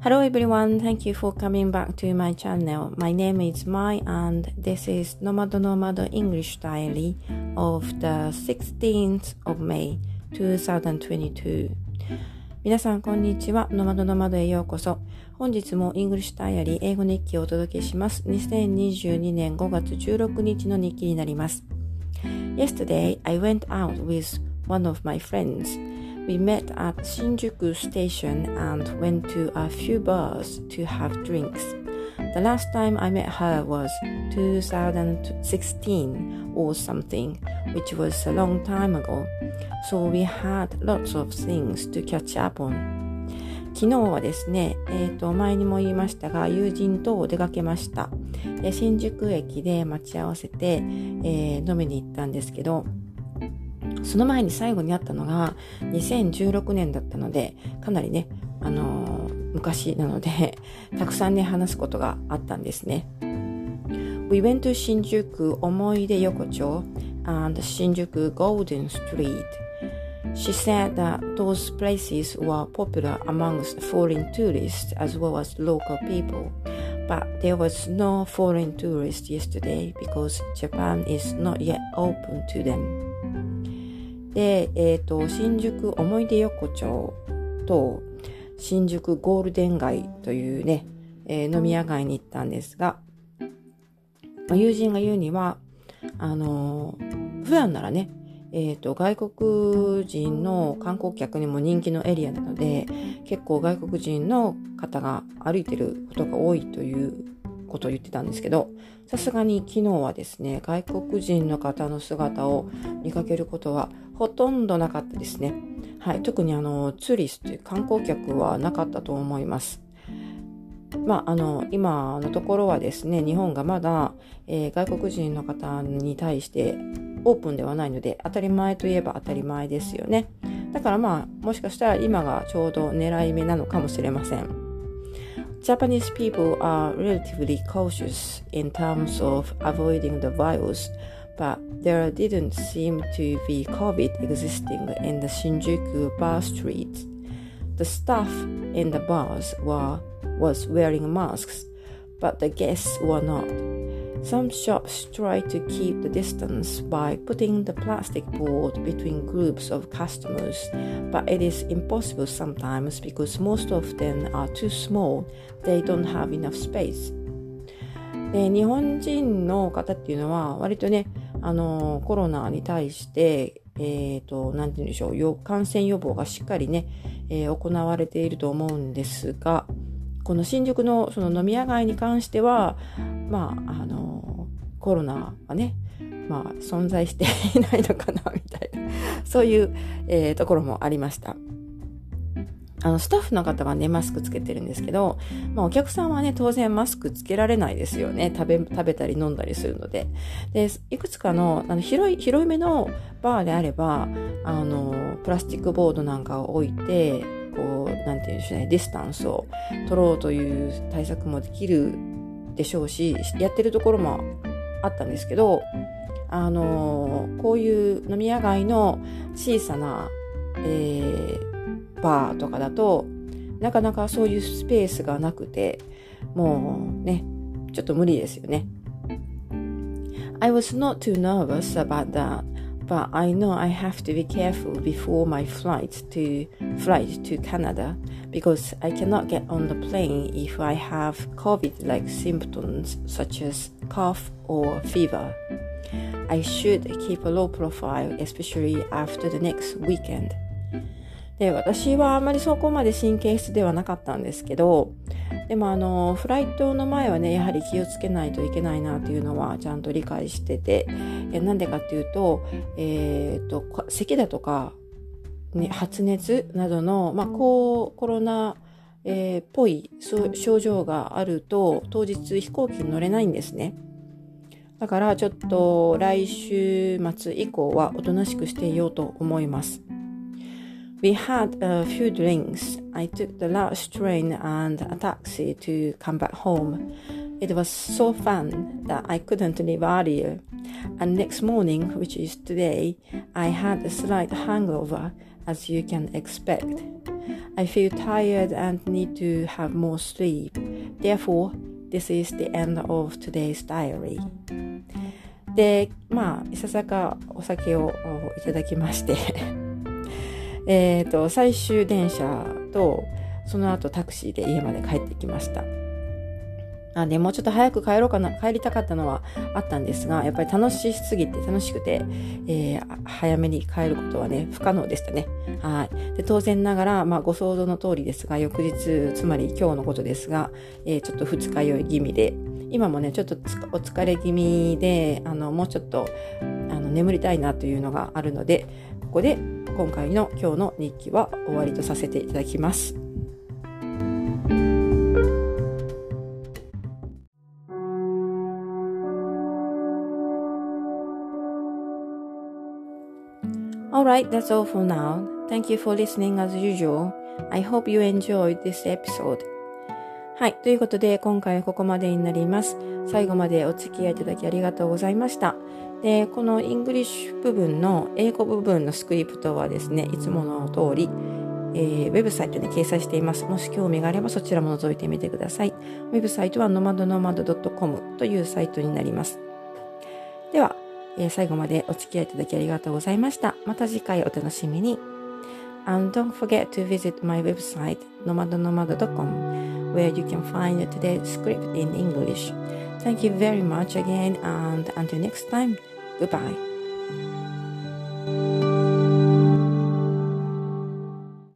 Hello everyone, thank you for coming back to my channel. My name is Mai and this is Nomad English Diary of the 16th of May 2022. 皆さんこんにちは。ノマドへようこそ。本日も English Diary 英語日記をお届けします。2022年5月16日の日記になります。Yesterday, I went out with one of my friends.We met at Shinjuku Station and went to a few bars to have drinks. The last time I met her was 2016 or something, which was a long time ago. So we had lots of things to catch up on. 昨日はですね、前にも言いましたが、友人と出かけました。新宿駅で待ち合わせて、飲みに行ったんですけど、その前に最後に会ったのが2016年だったので、かなりね、昔なのでたくさんね話すことがあったんですね。We went to Shinjuku 思い出横丁 and Shinjuku Golden Street. She said that those places were popular amongst foreign tourists as well as local people. But there was no foreign tourist yesterday because Japan is not yet open to them.で、新宿思い出横丁と新宿ゴールデン街というね、飲み屋街に行ったんですが、友人が言うには、普段ならね、外国人の観光客にも人気のエリアなので、結構外国人の方が歩いてることが多いということを言ってたんですけど、さすがに昨日はですね、外国人の方の姿を見かけることはほとんどなかったですね。はい、特にツーリストという観光客はなかったと思います。今のところはですね、日本がまだ、外国人の方に対してオープンではないので、当たり前といえば当たり前ですよね。だからもしかしたら今がちょうど狙い目なのかもしれません。Japanese people are relatively cautious in terms of avoiding the virus, but there didn't seem to be COVID existing in the Shinjuku bar streets. The staff in the bars was wearing masks, but the guests were not. Some shops try to keep the distance by putting the plastic board between groups of customers, but it is impossible sometimes because most of them are too small. They don't have enough space. で、日本人の方っていうのは割とね、コロナに対して、なんて言うんでしょう、感染予防がしっかりね、行われていると思うんですが、この新宿のその飲み屋街に関しては、コロナはね、存在していないのかなみたいな、そういう、ところもありました。スタッフの方はね、マスクつけてるんですけど、お客さんはね、当然マスクつけられないですよね。食べたり飲んだりするので。で、いくつかの、広いめのバーであれば、プラスチックボードなんかを置いて、こう、なんていうんでしょうね、ディスタンスを取ろうという対策もできるでしょうし、やってるところもあったんですけど、こういう飲み屋街の小さな、バーとかだとなかなかそういうスペースがなくて、もうね、ちょっと無理ですよね。I was not too nervous about that, but I know I have to be careful before my flight to Canada because I cannot get on the plane if I have COVID-like symptoms such as cough or fever. I should keep a low profile, especially after the next weekend.で、私はあまりそこまで神経質ではなかったんですけど、でもフライトの前はね、やはり気をつけないといけないなというのはちゃんと理解してて、なんでかっていうと、咳だとか、ね、発熱などの、コロナ、っぽい症状があると、当日飛行機に乗れないんですね。だからちょっと来週末以降はおとなしくしていようと思います。We had a few drinks. I took the last train and a taxi to come back home. It was so fun that I couldn't leave earlier. And next morning, which is today, I had a slight hangover as you can expect. I feel tired and need to have more sleep. Therefore, this is the end of today's diary. で、いささかお酒をいただきまして最終電車とその後タクシーで家まで帰ってきました。でもうちょっと早く帰りたかったのはあったんですが、やっぱり楽しくて、早めに帰ることはね、不可能でしたね。はい。で、当然ながら、ご想像の通りですが、翌日、つまり今日のことですが、ちょっと二日酔い気味で、今もね、ちょっとお疲れ気味で、もうちょっと、眠りたいなというのがあるので、ここで今回の今日の日記は終わりとさせていただきます。Alright, that's all for now. Thank you for listening as usual. I hope you enjoyed this episode. はい、ということで今回はここまでになります。最後までお付き合いいただきありがとうございました。で、このイングリッシュ部分の英語部分のスクリプトはですね、いつもの通り、ウェブサイトに掲載しています。もし興味があればそちらも覗いてみてください。ウェブサイトは nomadnomad.com というサイトになります。では、最後までお付き合いいただきありがとうございました。また次回お楽しみに。And don't forget to visit my website nomadnomad.com where you can find today's script in English. Thank you very much again and until next time, goodbye.